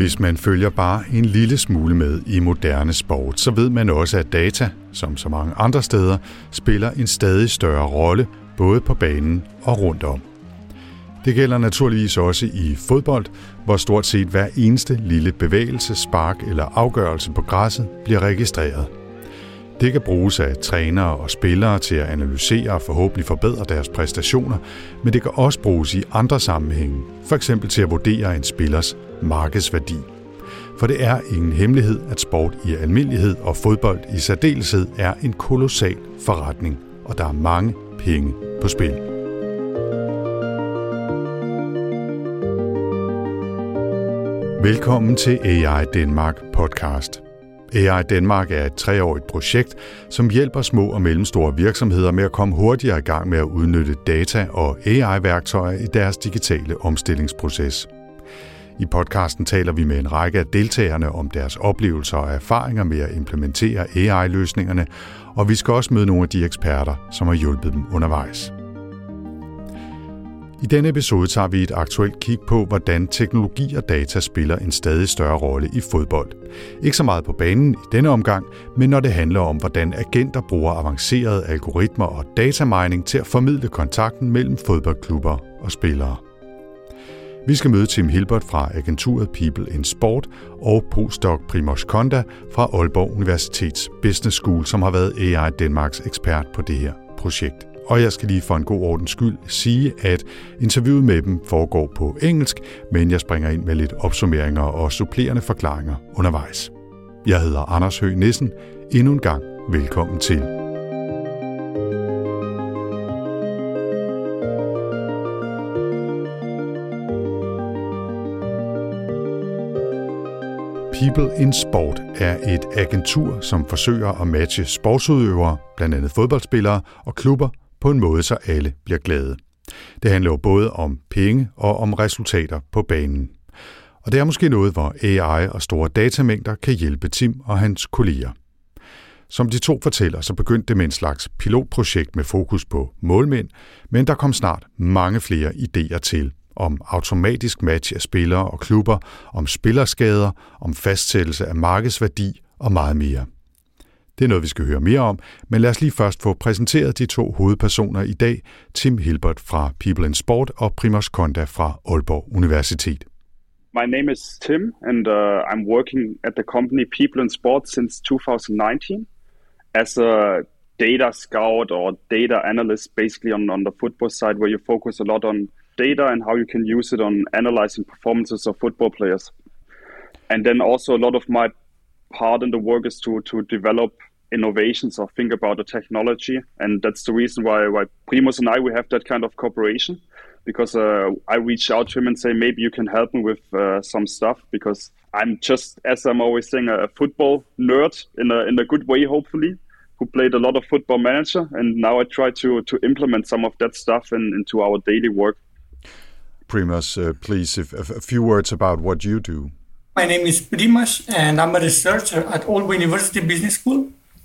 Hvis man følger bare en lille smule med i moderne sport, så ved man også, at data, som så mange andre steder, spiller en stadig større rolle, både på banen og rundt om. Det gælder naturligvis også i fodbold, hvor stort set hver eneste lille bevægelse, spark eller afgørelse på græsset bliver registreret. Det kan bruges af trænere og spillere til at analysere og forhåbentlig forbedre deres præstationer, men det kan også bruges i andre sammenhænge, f.eks. til at vurdere en spillers markedsværdi. For det er ingen hemmelighed, at sport i almindelighed og fodbold i særdeleshed er en kolossal forretning, og der er mange penge på spil. Velkommen til AI Denmark podcast. AI Denmark er et 3-årigt projekt, som hjælper små og mellemstore virksomheder med at komme hurtigere i gang med at udnytte data og AI-værktøjer i deres digitale omstillingsproces. I podcasten taler vi med en række af deltagerne om deres oplevelser og erfaringer med at implementere AI-løsningerne, og vi skal også møde nogle af de eksperter, som har hjulpet dem undervejs. I denne episode tager vi et aktuelt kig på, hvordan teknologi og data spiller en stadig større rolle i fodbold. Ikke så meget på banen i denne omgang, men når det handler om, hvordan agenter bruger avancerede algoritmer og datamining til at formidle kontakten mellem fodboldklubber og spillere. Vi skal møde Tim Hilbert fra agenturet People in Sport og postdoc Primož Konda fra Aalborg Universitets Business School, som har været AI Danmarks ekspert på det her projekt. Og jeg skal lige for en god ordens skyld sige, at interviewet med dem foregår på engelsk, men jeg springer ind med lidt opsummeringer og supplerende forklaringer undervejs. Jeg hedder Anders Høgh Nissen. Endnu en gang velkommen til. People in Sport er et agentur, som forsøger at matche sportsudøvere, blandt andet fodboldspillere og klubber, på en måde, så alle bliver glade. Det handler jo både om penge og om resultater på banen. Og det er måske noget, hvor AI og store datamængder kan hjælpe Tim og hans kolleger. Som de to fortæller, så begyndte det med en slags pilotprojekt med fokus på målmænd, men der kom snart mange flere idéer til. Om automatisk match af spillere og klubber, om spillerskader, om fastsættelse af markedsværdi og meget mere. Det er noget, vi skal høre mere om, men lad os lige først få præsenteret de to hovedpersoner i dag, Tim Hilbert fra People in Sport og Primož Konda fra Aalborg Universitet. My name is Tim, and I'm working at the company People in Sport since 2019 as a data scout or data analyst, basically on the football side, where you focus a lot on data and how you can use it on analyzing performances of football players. And then also a lot of my part in the work is to develop innovations or think about the technology, and that's the reason why Primož and I, we have that kind of cooperation, because I reach out to him and say, maybe you can help me with some stuff, because I'm just, as I'm always saying, a football nerd in a good way, hopefully, who played a lot of Football Manager, and now I try to implement some of that stuff into our daily work. Primož, please, a few words about what you do. My name is Primož, and I'm a researcher at Aalborg University Business School.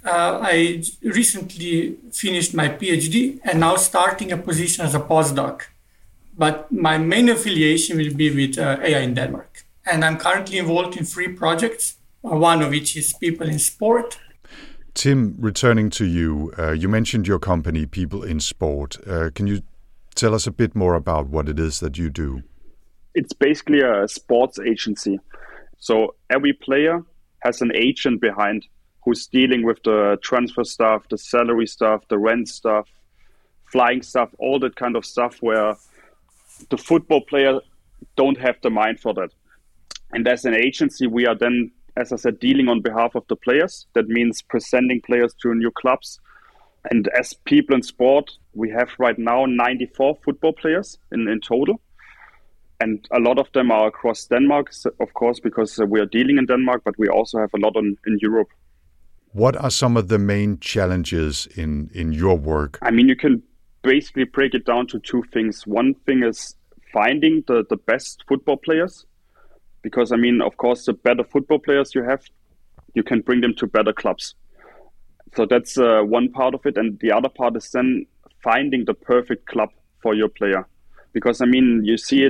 I recently finished my PhD and now starting a position as a postdoc. But my main affiliation will be with AI in Denmark. And I'm currently involved in 3 projects, one of which is People in Sport. Tim, returning to you, you mentioned your company, People in Sport. Can you tell us a bit more about what it is that you do? It's basically a sports agency. So every player has an agent behind who's dealing with the transfer stuff, the salary stuff, the rent stuff, flying stuff, all that kind of stuff where the football player don't have the mind for that. And as an agency, we are then, as I said, dealing on behalf of the players. That means presenting players to new clubs. And as People in Sport, we have right now 94 football players in total. And a lot of them are across Denmark, of course, because we are dealing in Denmark, but we also have a lot in Europe. What are some of the main challenges in your work? I mean, you can basically break it down to 2 things. One thing is finding the best football players, because, I mean, of course, the better football players you have, you can bring them to better clubs. So that's one part of it. And the other part is then finding the perfect club for your player. Because, I mean, you see it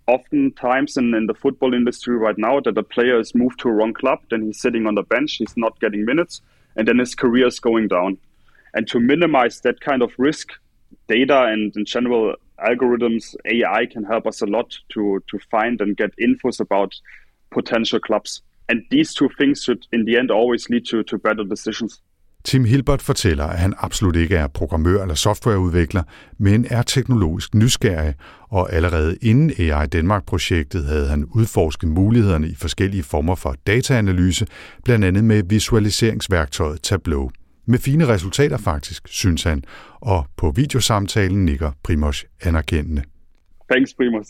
oftentimes in the football industry right now that a player is moved to a wrong club, then he's sitting on the bench, he's not getting minutes, and then his career is going down. And to minimize that kind of risk, data and in general algorithms, AI can help us a lot to find and get infos about potential clubs. And these two things should in the end always lead to better decisions. Tim Hilbert fortæller, at han absolut ikke er programmør eller softwareudvikler, men er teknologisk nysgerrig, og allerede inden AI Danmark-projektet havde han udforsket mulighederne i forskellige former for dataanalyse, blandt andet med visualiseringsværktøjet Tableau. Med fine resultater faktisk, synes han, og på videosamtalen nikker Primož anerkendende. Thanks, Primož.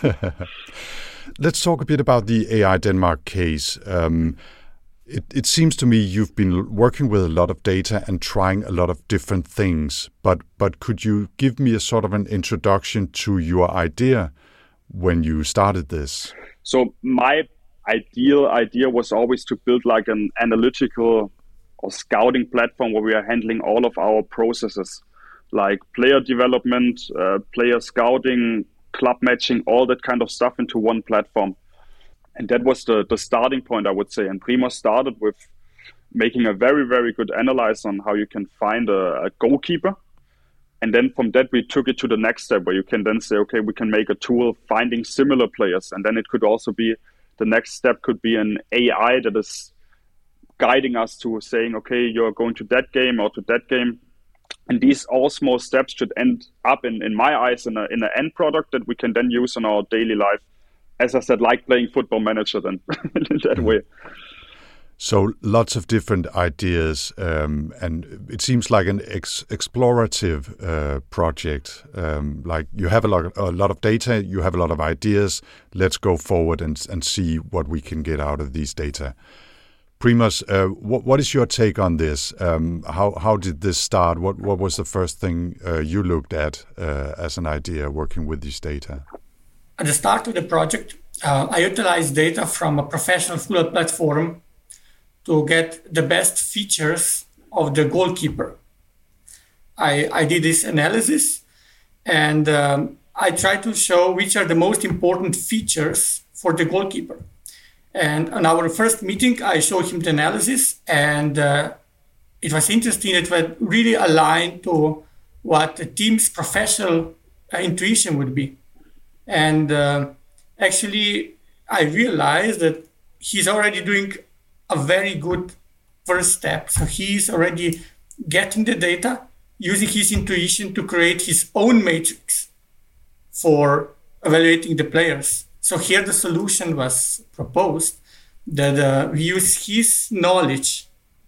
Let's talk a bit about the AI Denmark case. It seems to me you've been working with a lot of data and trying a lot of different things, but could you give me a sort of an introduction to your idea when you started this? So my ideal idea was always to build like an analytical or scouting platform where we are handling all of our processes, like player development, player scouting, club matching, all that kind of stuff into one platform. And that was the starting point, I would say. And Primož started with making a very, very good analysis on how you can find a goalkeeper. And then from that, we took it to the next step where you can then say, okay, we can make a tool finding similar players. And then it could also be, the next step could be an AI that is guiding us to saying, okay, you're going to that game or to that game. And these all small steps should end up, in my eyes, in an end product that we can then use in our daily life. As I said, like playing Football Manager then, in that way. So lots of different ideas, and it seems like an explorative project. Like you have a lot of data, you have a lot of ideas. Let's go forward and see what we can get out of these data. Primož, what is your take on this? How did this start? What was the first thing you looked at as an idea working with these data? At the start of the project, I utilized data from a professional football platform to get the best features of the goalkeeper. I did this analysis and I tried to show which are the most important features for the goalkeeper. And on our first meeting, I showed him the analysis, and it was interesting. It was really aligned to what the team's professional intuition would be. And actually, I realized that he's already doing a very good first step. So he's already getting the data, using his intuition to create his own matrix for evaluating the players. So here the solution was proposed that we use his knowledge,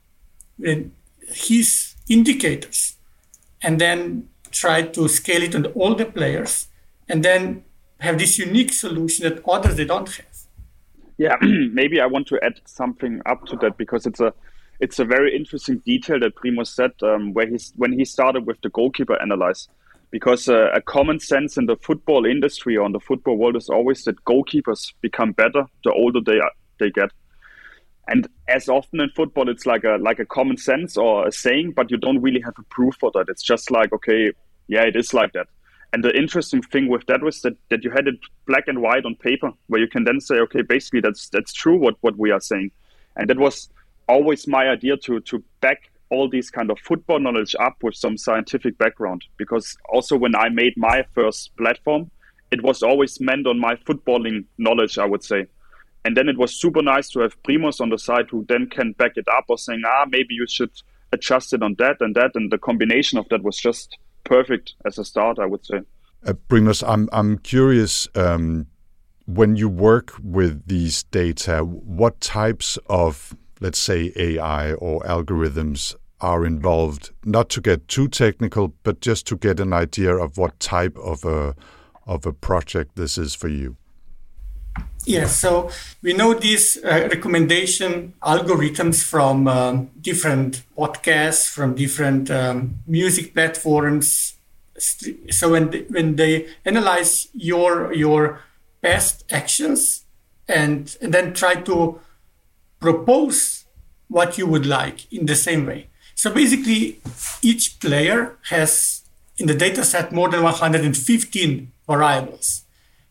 his indicators, and then try to scale it on all the players, and then have this unique solution that others they don't have. Yeah, maybe I want to add something up to that because it's a very interesting detail that Primož said when he started with the goalkeeper analysis. Because a common sense in the football industry or in the football world is always that goalkeepers become better the older they get. And as often in football, it's like a common sense or a saying, but you don't really have a proof for that. It's just like, okay, yeah, it is like that. And the interesting thing with that was that you had it black and white on paper, where you can then say, okay, basically that's true what we are saying. And that was always my idea to back all these kind of football knowledge up with some scientific background. Because also when I made my first platform, it was always meant on my footballing knowledge, I would say. And then it was super nice to have Primož on the side who then can back it up or saying, maybe you should adjust it on that and that. And the combination of that was just perfect as a start, I would say. Primož, I'm curious, when you work with these data, what types of, let's say, AI or algorithms are involved? Not to get too technical, but just to get an idea of what type of a project this is for you. Yes, so we know these recommendation algorithms from different podcasts, from different music platforms. So when they analyze your past actions and then try to propose what you would like in the same way. So basically, each player has in the data set more than 115 variables.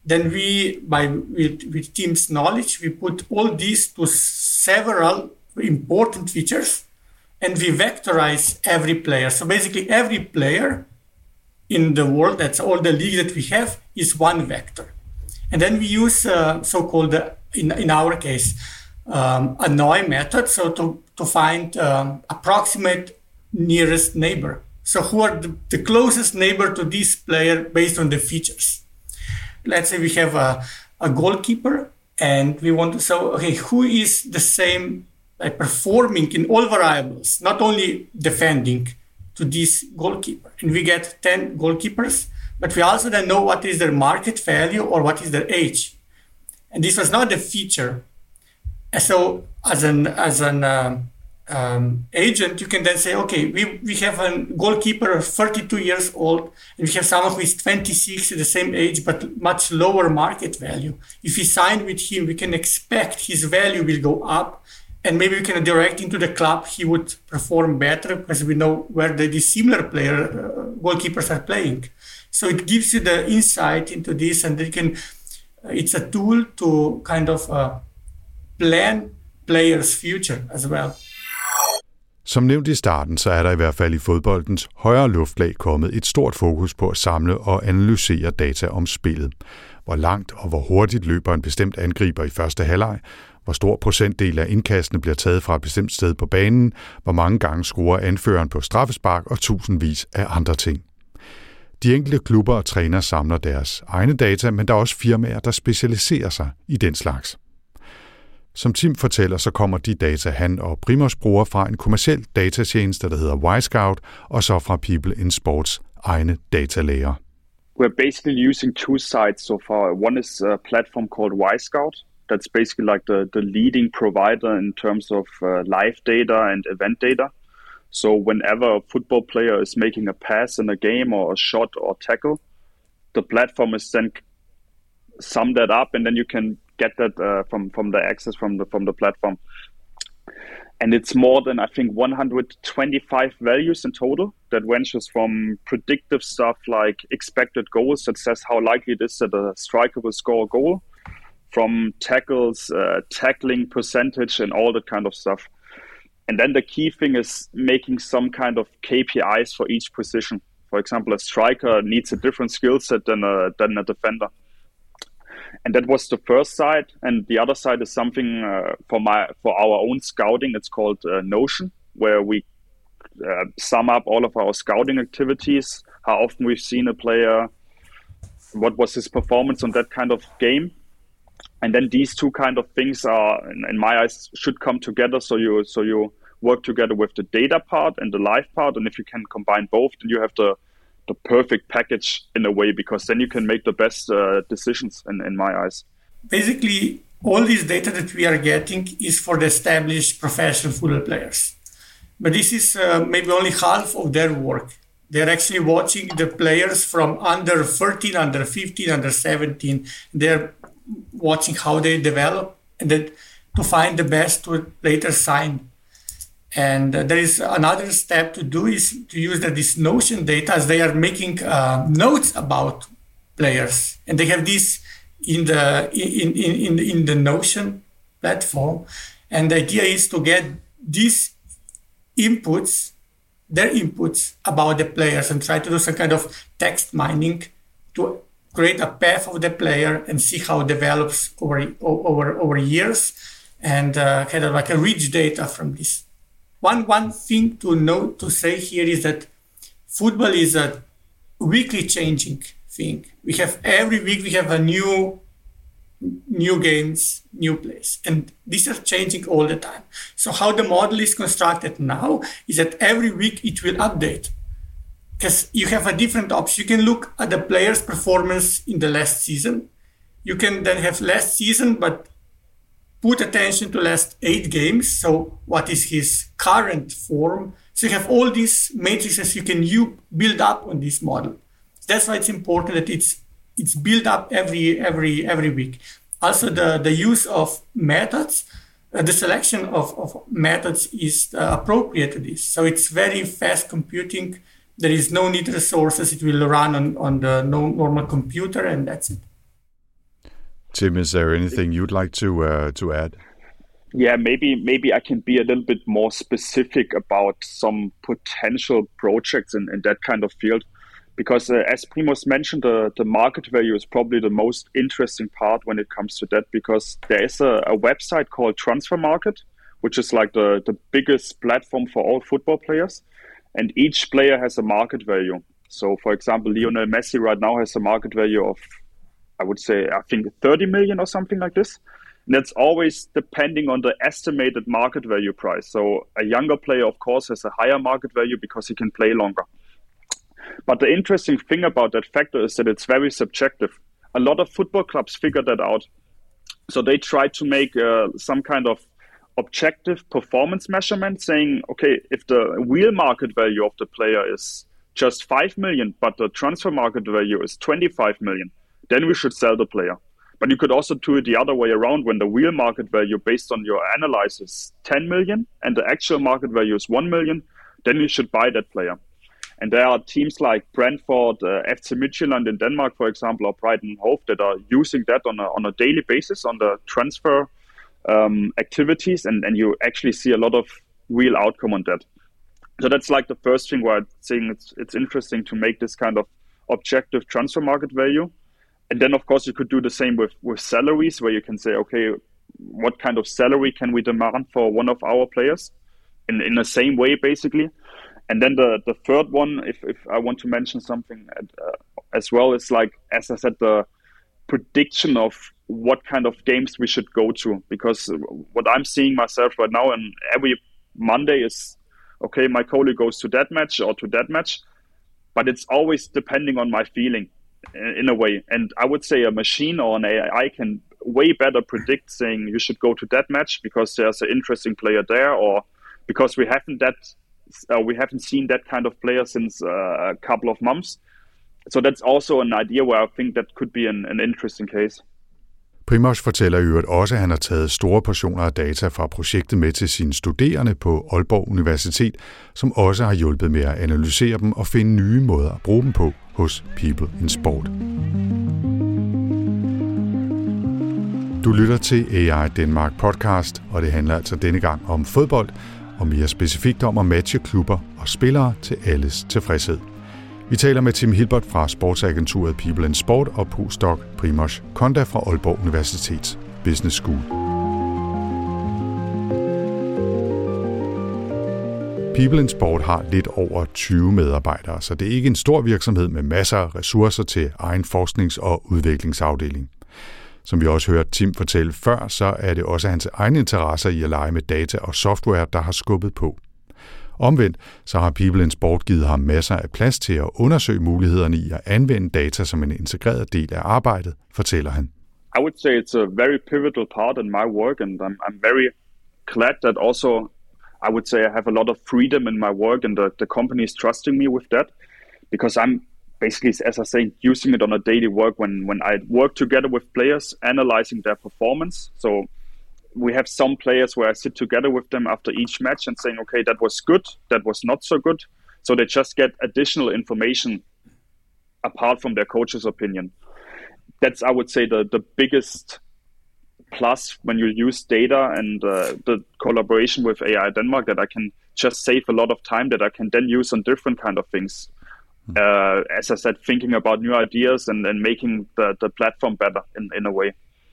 Then with team's knowledge, we put all these to several important features, and we vectorize every player. So basically every player in the world, that's all the leagues that we have, is one vector. And then we use so-called, in our case, a NOI method, so to find approximate nearest neighbor. So who are the closest neighbor to this player based on the features? Let's say we have a goalkeeper, and we want to say, okay, who is the same performing in all variables, not only defending, to this goalkeeper. And we get 10 goalkeepers, but we also then know what is their market value or what is their age. And this was not the feature. And so as an agent, you can then say, okay, we have a goalkeeper of 32 years old, and we have someone who is 26 at the same age, but much lower market value. If we sign with him, we can expect his value will go up, and maybe we can direct into the club, he would perform better because we know where the similar goalkeepers are playing. So it gives you the insight into this, and it's a tool to kind of plan players' future as well. Som nævnt i starten, så er der i hvert fald i fodboldens højere luftlag kommet et stort fokus på at samle og analysere data om spillet. Hvor langt og hvor hurtigt løber en bestemt angriber i første halvleg, hvor stor procentdel af indkastene bliver taget fra et bestemt sted på banen, hvor mange gange scorer anføreren på straffespark og tusindvis af andre ting. De enkelte klubber og trænere samler deres egne data, men der er også firmaer, der specialiserer sig i den slags. Som Tim fortæller, så kommer de data, han og Primož bruger fra en kommerciel datatjeneste, der hedder Wisecout, og så fra People in Sports egne datalager. We're basically using two sites so far. One is a platform called Wisecout. That's basically like the leading provider in terms of live data and event data. So whenever a football player is making a pass in a game or a shot or tackle, the platform is then sum that up, and then you can get that from the access from the platform. And it's more than, I think, 125 values in total that ranges from predictive stuff like expected goals, that says how likely it is that a striker will score a goal, from tackles, tackling percentage, and all that kind of stuff. And then the key thing is making some kind of KPIs for each position. For example, a striker needs a different skill set than a defender. And that was the first side. And the other side is something for our own scouting. It's called Notion, where we sum up all of our scouting activities, how often we've seen a player, what was his performance on that kind of game. And then these two kind of things are, in my eyes, should come together. So you work together with the data part and the live part. And if you can combine both, then you have the perfect package in a way, because then you can make the best decisions in my eyes. Basically, all this data that we are getting is for the established professional football players. But this is maybe only half of their work. They're actually watching the players from under 13, under 15, under 17. They're watching how they develop, and then to find the best to later sign. And there is another step to do is to use this Notion data, as they are making notes about players, and they have this in the Notion platform. And the idea is to get these inputs, their inputs about the players, and try to do some kind of text mining to create a path of the player and see how it develops over years, and kind of like a rich data from this. One thing to say here is that football is a weekly changing thing. Every week we have a new games, new plays, and these are changing all the time. So how the model is constructed now is that every week it will update, because you have a different option. You can look at the player's performance in the last season. You can then have last season, but put attention to last 8 games. So what is his current form? So you have all these matrices you can build up on this model. That's why it's important that it's built up every week. Also, the use of methods, the selection of methods is appropriate to this. So it's very fast computing. There is no need resources. It will run on the normal computer, and that's it. Tim, is there anything you'd like to add? Yeah, maybe I can be a little bit more specific about some potential projects in that kind of field. Because as Primož mentioned, the market value is probably the most interesting part when it comes to that, because there is a website called Transfer Market, which is like the biggest platform for all football players. And each player has a market value. So, for example, Lionel Messi right now has a market value of, I think 30 million or something like this. And that's always depending on the estimated market value price. So a younger player, of course, has a higher market value because he can play longer. But the interesting thing about that factor is that it's very subjective. A lot of football clubs figured that out. So they try to make some kind of objective performance measurement saying, okay, if the real market value of the player is just 5 million, but the transfer market value is 25 million, then we should sell the player. But you could also do it the other way around. When the real market value based on your analysis is 10 million and the actual market value is 1 million, then you should buy that player. And there are teams like Brentford, FC Midtjylland in Denmark, for example, or Brighton Hove that are using that on a daily basis on the transfer activities. And you actually see a lot of real outcome on that. So that's like the first thing where I'm saying it's interesting to make this kind of objective transfer market value. And then, of course, you could do the same with salaries, where you can say, okay, what kind of salary can we demand for one of our players in the same way, basically. And then the third one, if I want to mention something as well, is like, as I said, the prediction of what kind of games we should go to. Because what I'm seeing myself right now, and every Monday is, okay, my colleague goes to that match or to that match. But it's always depending on my feeling. In a way, and I would say a machine or an AI can way better predict saying you should go to that match because there's an interesting player there, or because we haven't seen that kind of player since a couple of months. So that's also an idea where I think that could be an interesting case. Primož fortæller i øvrigt også, at han har taget store portioner af data fra projektet med til sine studerende på Aalborg Universitet, som også har hjulpet med at analysere dem og finde nye måder at bruge dem på hos People in Sport. Du lytter til AI Denmark podcast, og det handler altså denne gang om fodbold, og mere specifikt om at matche klubber og spillere til alles tilfredshed. Vi taler med Tim Hilbert fra sportsagenturet People in Sport og postdoc Primož Konda fra Aalborg Universitets Business School. People in Sport har lidt over 20 medarbejdere, så det er ikke en stor virksomhed med masser af ressourcer til egen forsknings- og udviklingsafdeling. Som vi også hørte Tim fortælle før, så er det også hans egen interesser i at lege med data og software, der har skubbet på. Omvendt så har People in Sport givet ham masser af plads til at undersøge mulighederne i at anvende data som en integreret del af arbejdet, fortæller han. I would say it's a very pivotal part in my work, and I'm very glad that also I would say I have a lot of freedom in my work, and the company is trusting me with that, because I'm basically, as I say, using it on a daily work when I work together with players, analyzing their performance. So we have some players where I sit together with them after each match and saying, okay, that was good, that was not so good. So they just get additional information apart from their coach's opinion. That's, I would say, the biggest plus when you use data and the collaboration with AI Denmark, that I can just save a lot of time that I can then use on different kind of things. As I said, thinking about new ideas and making the platform better in a way.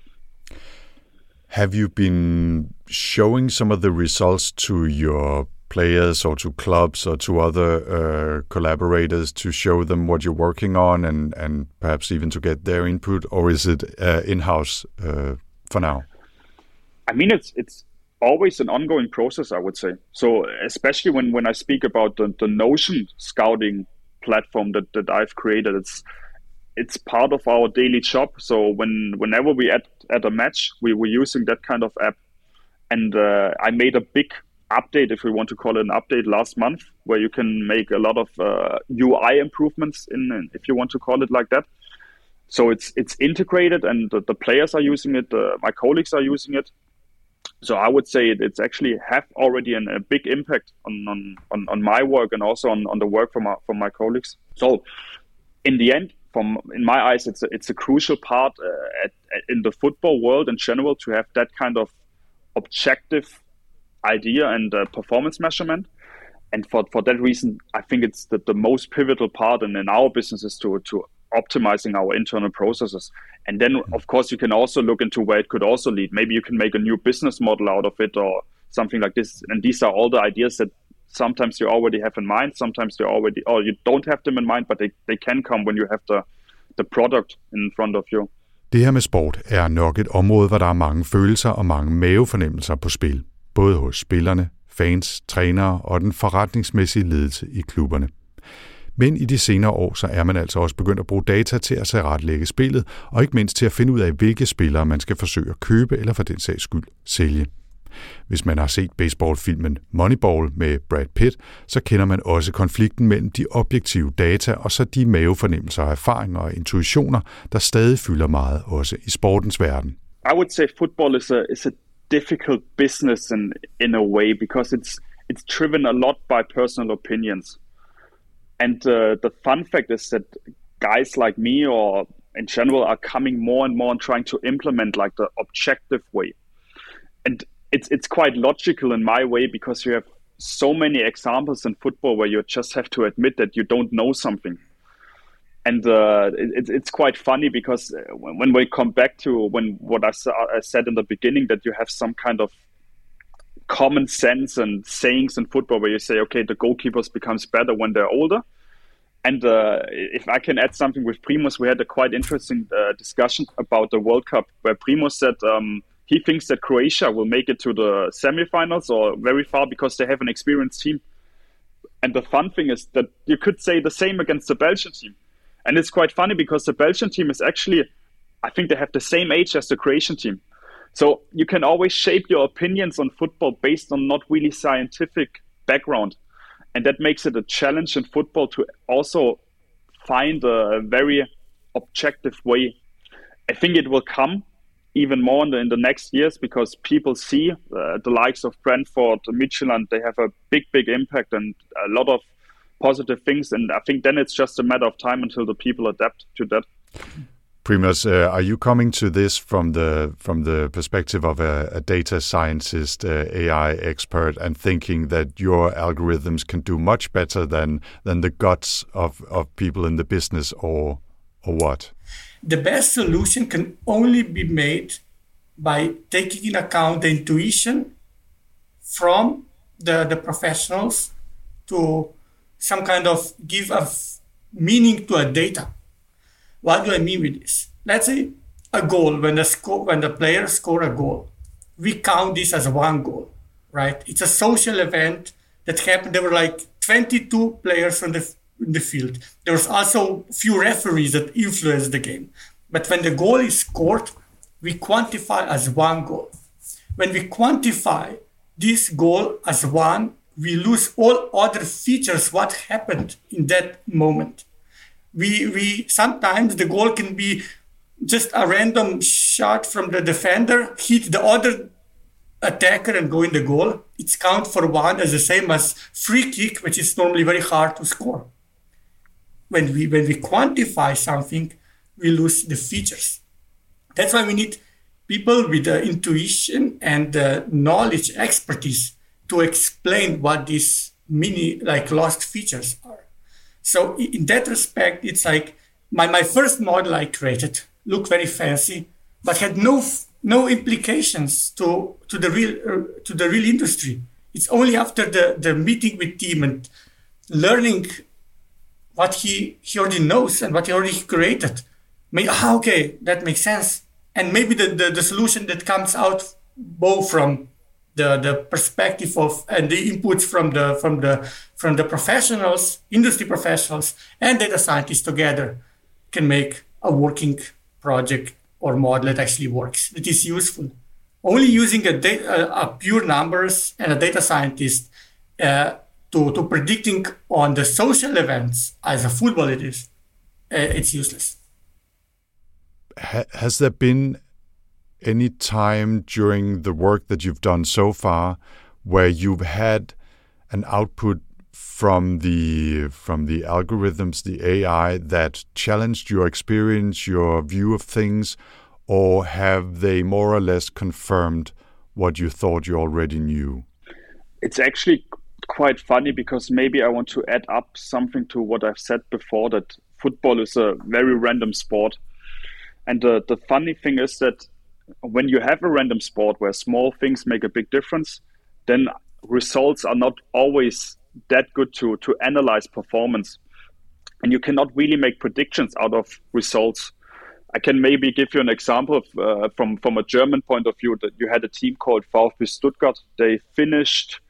Have you been showing some of the results to your players or to clubs or to other collaborators to show them what you're working on and perhaps even to get their input, or is it in-house for now? I mean, it's always an ongoing process, I would say. So especially when I speak about the Notion scouting platform that I've created, it's part of our daily job. So whenever we at a match, we were using that kind of app. And I made a big update, if we want to call it an update, last month, where you can make a lot of UI improvements if you want to call it like that. So it's integrated, and the players are using it. My colleagues are using it. So I would say it's actually have already a big impact on my work and also on the work from my colleagues. So in the end, in my eyes, it's a crucial part in the football world in general to have that kind of objective idea and performance measurement. And for that reason, I think it's the most pivotal part in our business is to optimizing our internal processes. And then, of course, you can also look into where it could also lead. Maybe you can make a new business model out of it or something like this. And these are all the ideas that sometimes you already have in mind, sometimes you don't have them in mind, but they can come when you have the product in front of you. Det her med sport er nok et område, hvor der er mange følelser og mange mavefornemmelser på spil. Både hos spillerne, fans, trænere og den forretningsmæssige ledelse i klubberne. Men i de senere år, så er man altså også begyndt at bruge data til at tilrettelægge spillet, og ikke mindst til at finde ud af, hvilke spillere man skal forsøge at købe eller for den sags skyld sælge. Hvis man har set baseballfilmen Moneyball med Brad Pitt, så kender man også konflikten mellem de objektive data og så de mavefornemmelser, erfaringer og intuitioner, der stadig fylder meget også i sportens verden. I would say football is a difficult business in a way because it's driven a lot by personal opinions. And the fun fact is that guys like me or in general are coming more and more and trying to implement like the objective way. And it's quite logical in my way because you have so many examples in football where you just have to admit that you don't know something. And it's quite funny because when we come back to what I said in the beginning, that you have some kind of common sense and sayings in football where you say, okay, the goalkeepers becomes better when they're older. And if I can add something with Primoz, we had a quite interesting discussion about the World Cup where Primoz said he thinks that Croatia will make it to the semifinals or very far because they have an experienced team. And the fun thing is that you could say the same against the Belgian team. And it's quite funny because the Belgian team is actually, I think they have the same age as the Croatian team. So you can always shape your opinions on football based on not really scientific background. And that makes it a challenge in football to also find a very objective way. I think it will come even more in the next years because people see the likes of Brentford, Midtjylland, they have a big impact and a lot of positive things. And I think then it's just a matter of time until the people adapt to that. Primoz, are you coming to this from the perspective of a data scientist, AI expert, and thinking that your algorithms can do much better than the guts of people in the business, or what? The best solution can only be made by taking into account the intuition from the professionals to some kind of give a meaning to a data. What do I mean with this? Let's say a goal, when the players score a goal, we count this as one goal, right? It's a social event that happened. There were like 22 players in the field. There was also a few referees that influenced the game. But when the goal is scored, we quantify as one goal. When we quantify this goal as one, we lose all other features, what happened in that moment. We sometimes the goal can be just a random shot from the defender, hit the other attacker and go in the goal. It's count for one as the same as free kick, which is normally very hard to score. When we quantify something, we lose the features. That's why we need people with the intuition and the knowledge, expertise to explain what these lost features are. So in that respect, it's like my first model I created looked very fancy, but had no implications to the real industry. It's only after the meeting with team and learning what he already knows and what he already created. Okay, that makes sense. And maybe the solution that comes out both from the perspective of and the inputs from the professionals, industry professionals, and data scientists together can make a working project or model that actually works, that is useful. Only using a pure numbers and a data scientist to predicting on the social events as a football it is, it's useless. Has there been any time during the work that you've done so far where you've had an output from the algorithms, the AI, that challenged your experience, your view of things, or have they more or less confirmed what you thought you already knew? It's actually quite funny because maybe I want to add up something to what I've said before, that football is a very random sport. And the funny thing is that when you have a random sport where small things make a big difference, then results are not always that good to analyze performance. And you cannot really make predictions out of results. I can maybe give you an example of, from a German point of view, that you had a team called VfB Stuttgart. They finished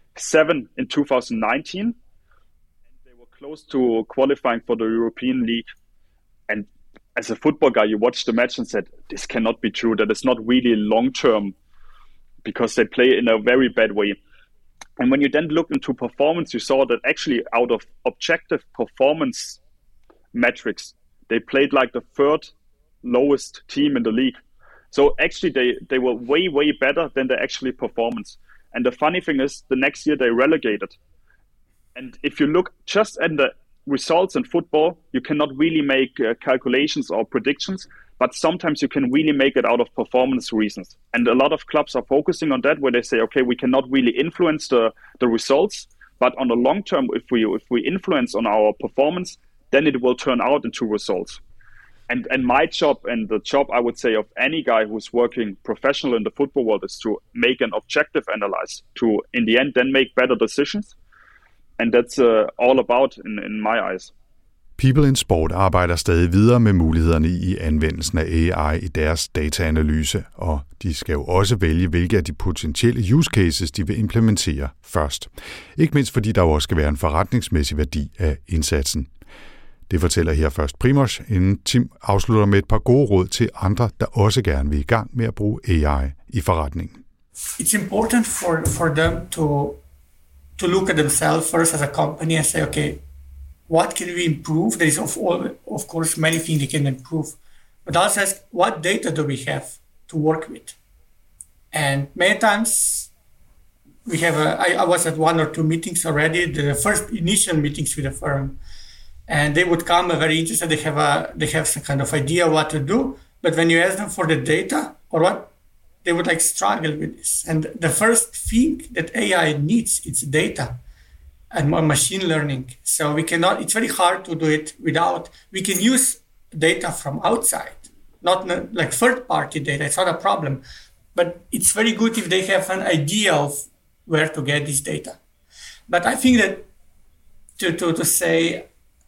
7 in 2019. And they were close to qualifying for the European League. And as a football guy, you watched the match and said, this cannot be true. That is not really long-term, because they play in a very bad way. And when you then look into performance, you saw that actually out of objective performance metrics, they played like the third lowest team in the league. So actually they were way, way better than their actually performance. And the funny thing is, the next year they relegated. And if you look just at the results in football, you cannot really make calculations or predictions, but sometimes you can really make it out of performance reasons. And a lot of clubs are focusing on that, where they say, okay, we cannot really influence the results, but on the long term, if we influence on our performance, then it will turn out into results. And my job, and the job, I would say, of any guy who's working professional in the football world, is to make an objective analysis, to, in the end, then make better decisions. And that's all about in my eyes. People in Sport arbejder stadig videre med mulighederne i anvendelsen af AI i deres dataanalyse, og de skal jo også vælge, hvilke af de potentielle use cases, de vil implementere først. Ikke mindst fordi der jo også skal være en forretningsmæssig værdi af indsatsen. Det fortæller her først Primož, inden Tim afslutter med et par gode råd til andre, der også gerne vil i gang med at bruge AI i forretningen. It's important for them to look at themselves first as a company and say, okay, what can we improve? There is of course many things they can improve, but also ask, what data do we have to work with? And many times we have I was at 1 or 2 meetings already, the first initial meetings with the firm, and they would come very interested. They have some kind of idea what to do, but when you ask them for the data or what, they would struggle with this. And the first thing that AI needs is data and machine learning. So it's very hard to do it without. We can use data from outside, not like third-party data. It's not a problem, but it's very good if they have an idea of where to get this data. But I think that to say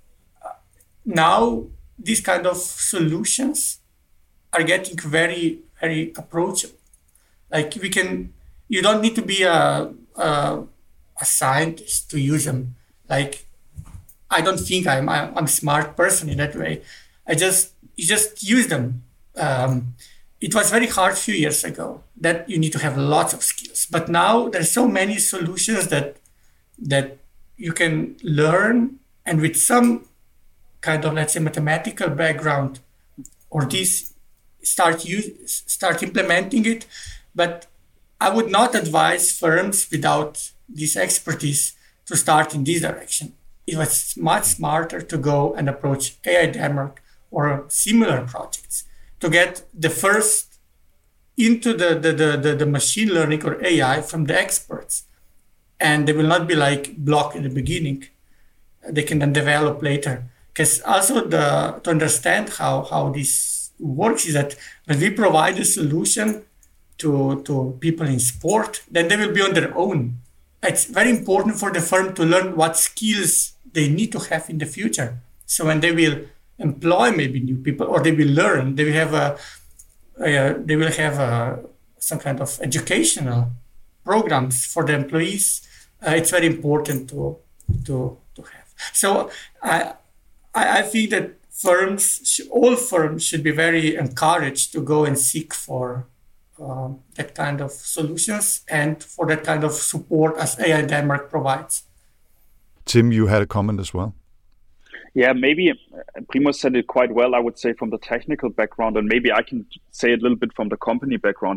now these kind of solutions are getting very, very approachable. Like you don't need to be a scientist to use them. Like, I don't think I'm a smart person in that way. You just use them. It was very hard a few years ago that you need to have lots of skills. But now there's so many solutions that you can learn, and with some kind of, let's say, mathematical background, or this start implementing it. But I would not advise firms without this expertise to start in this direction. It was much smarter to go and approach AI Denmark or similar projects to get the first into the machine learning or AI from the experts. And they will not be blocked at the beginning. They can then develop later. Because also to understand how this works is that when we provide a solution to people in sport, then they will be on their own. It's very important for the firm to learn what skills they need to have in the future. So when they will employ maybe new people, or they will learn, they will have some kind of educational programs for the employees. It's very important to have. So I think that all firms should be very encouraged to go and seek for that kind of solutions and for that kind of support as AI Denmark provides. Tim, you had a comment as well. Yeah, maybe Primož said it quite well, I would say, from the technical background, and maybe I can say a little bit from the company background.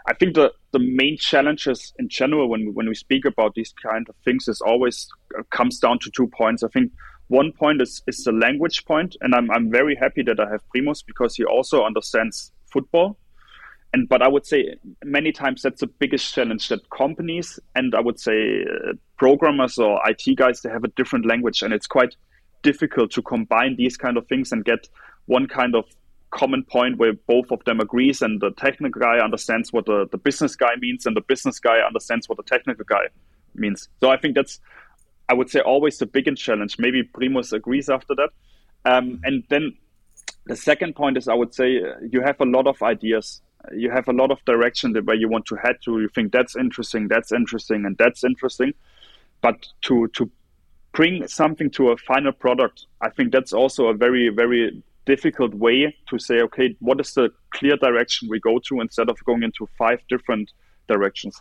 I think the main challenges in general when we speak about these kind of things is always comes down to 2 points. I think one point is the language point, and I'm very happy that I have Primoz because he also understands football. But I would say many times that's the biggest challenge, that companies and I would say programmers or IT guys, they have a different language, and it's quite difficult to combine these kind of things and get one kind of common point where both of them agrees and the technical guy understands what the business guy means and the business guy understands what the technical guy means. So I think that's, I would say, always the biggest challenge. Maybe Primoz agrees after that. And then the second point is, I would say, you have a lot of ideas. You have a lot of direction where you want to head to. You think that's interesting, and that's interesting. But to bring something to a final product, I think that's also a very, very difficult way to say, okay, what is the clear direction we go to instead of going into 5 different directions.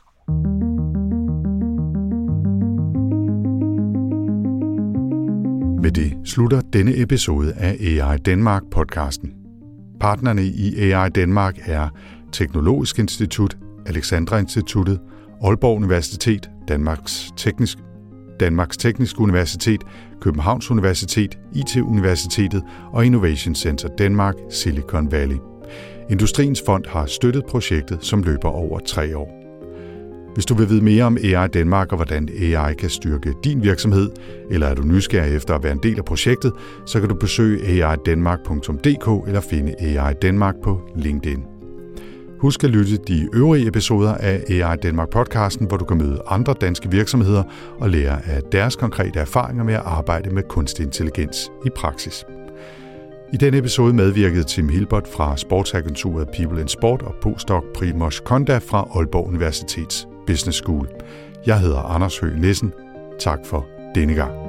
Med det slutter denne episode af AI Danmark-podcasten. Partnerne i AI Danmark er Teknologisk Institut, Alexandra Instituttet, Aalborg Universitet, Danmarks Tekniske Universitet, Københavns Universitet, IT-universitetet og Innovation Center Denmark, Silicon Valley. Industriens Fond har støttet projektet, som løber over 3 år. Hvis du vil vide mere om AI Danmark og hvordan AI kan styrke din virksomhed, eller er du nysgerrig efter at være en del af projektet, så kan du besøge aidanmark.dk eller finde AI Danmark på LinkedIn. Husk at lytte de øvrige episoder af AI Danmark-podcasten, hvor du kan møde andre danske virksomheder og lære af deres konkrete erfaringer med at arbejde med kunstig intelligens i praksis. I denne episode medvirkede Tim Hilbert fra sportsagenturet People in Sport og postdoc Primoz Konda fra Aalborg Universitets Business School. Jeg hedder Anders Høgh Nissen. Tak for denne gang.